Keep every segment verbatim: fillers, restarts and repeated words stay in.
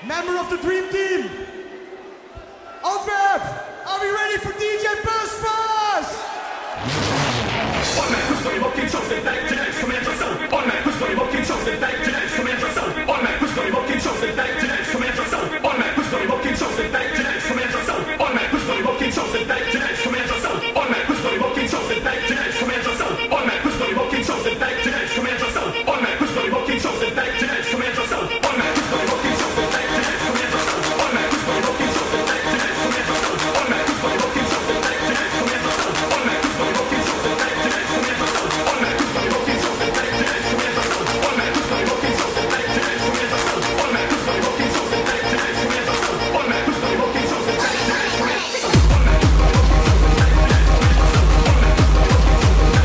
member of the Dream Team. Antwerp, are we ready for D J Busbus? One man who's going to walk in shows and back genetics, command yourself. One man who's going to walk in shows and back genetics, command yourself. One man who's going to walk in shows and back genetics, command yourself. One man who's going to walk in shows and back genetics, command yourself. One man who's going to walk in shows and back genetics, command yourself. One man who's going to walk in shows and back genetics, command yourself. One man who's going to walk in shows and back genetics, command yourself. One man who's going to walk in shows and back genetics, command yourself. One man who's going to walk in shows and back genetics, command yourself. One man who's going to walk in shows and back genetics, command yourself. One man who's going to walk in shows and back genetics, command yourself. One man who's going to walk in shows and back genetics, command yourself. One man who's going to walk in shows and back genetics, command yourself. One man who's going to walk in shows and back genetics, command yourself. One man who's going to walk in shows and back genetics, command yourself. One man who's going to walk in shows and back genetics, command yourself. One man who's going to walk in shows and back genetics, command yourself. One man who's going to walk in shows and back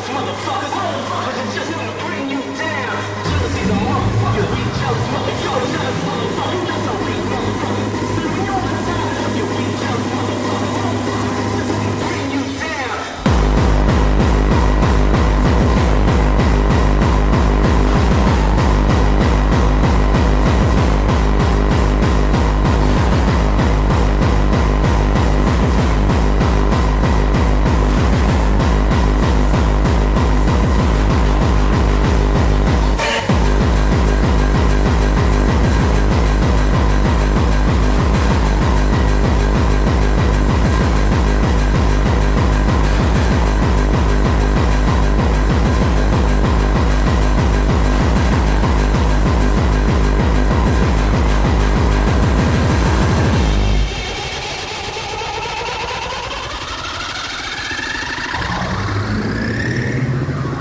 motherfuckers. Cause it's just gonna bring you down. Jealousy's a motherfucker. We jealous motherfuckers. Jealous motherfuckers. That's a weak motherfucker. So we know the time. You weak jealous motherfuckers. Bring you down.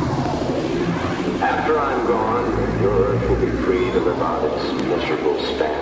After I'm gone, your earth will be free to live out its miserable span.